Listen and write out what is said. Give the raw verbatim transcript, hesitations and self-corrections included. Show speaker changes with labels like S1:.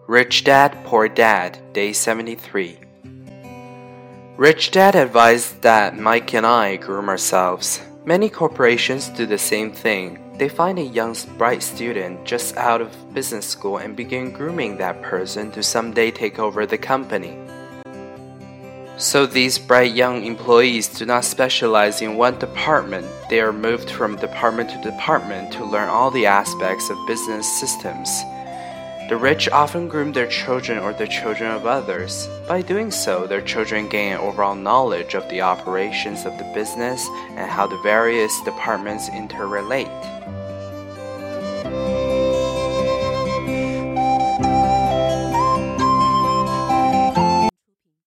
S1: Rich Dad, Poor Dad, Day seventy-three. Rich Dad advised that Mike and I groom ourselves. Many corporations do the same thing. They find a young, bright student just out of business school and begin grooming that person to someday take over the company. So these bright young employees do not specialize in one department. They are moved from department to department to learn all the aspects of business systems. The rich often groom their children or the children of others. By doing so, their children gain an overall knowledge of the operations of the business and how the various departments interrelate.